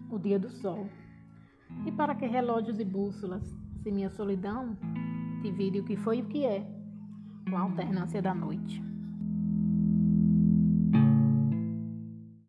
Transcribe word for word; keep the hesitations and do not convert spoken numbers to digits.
o dia do sol. E para que relógios e bússolas, se minha solidão divide o que foi e o que é, com a alternância da noite.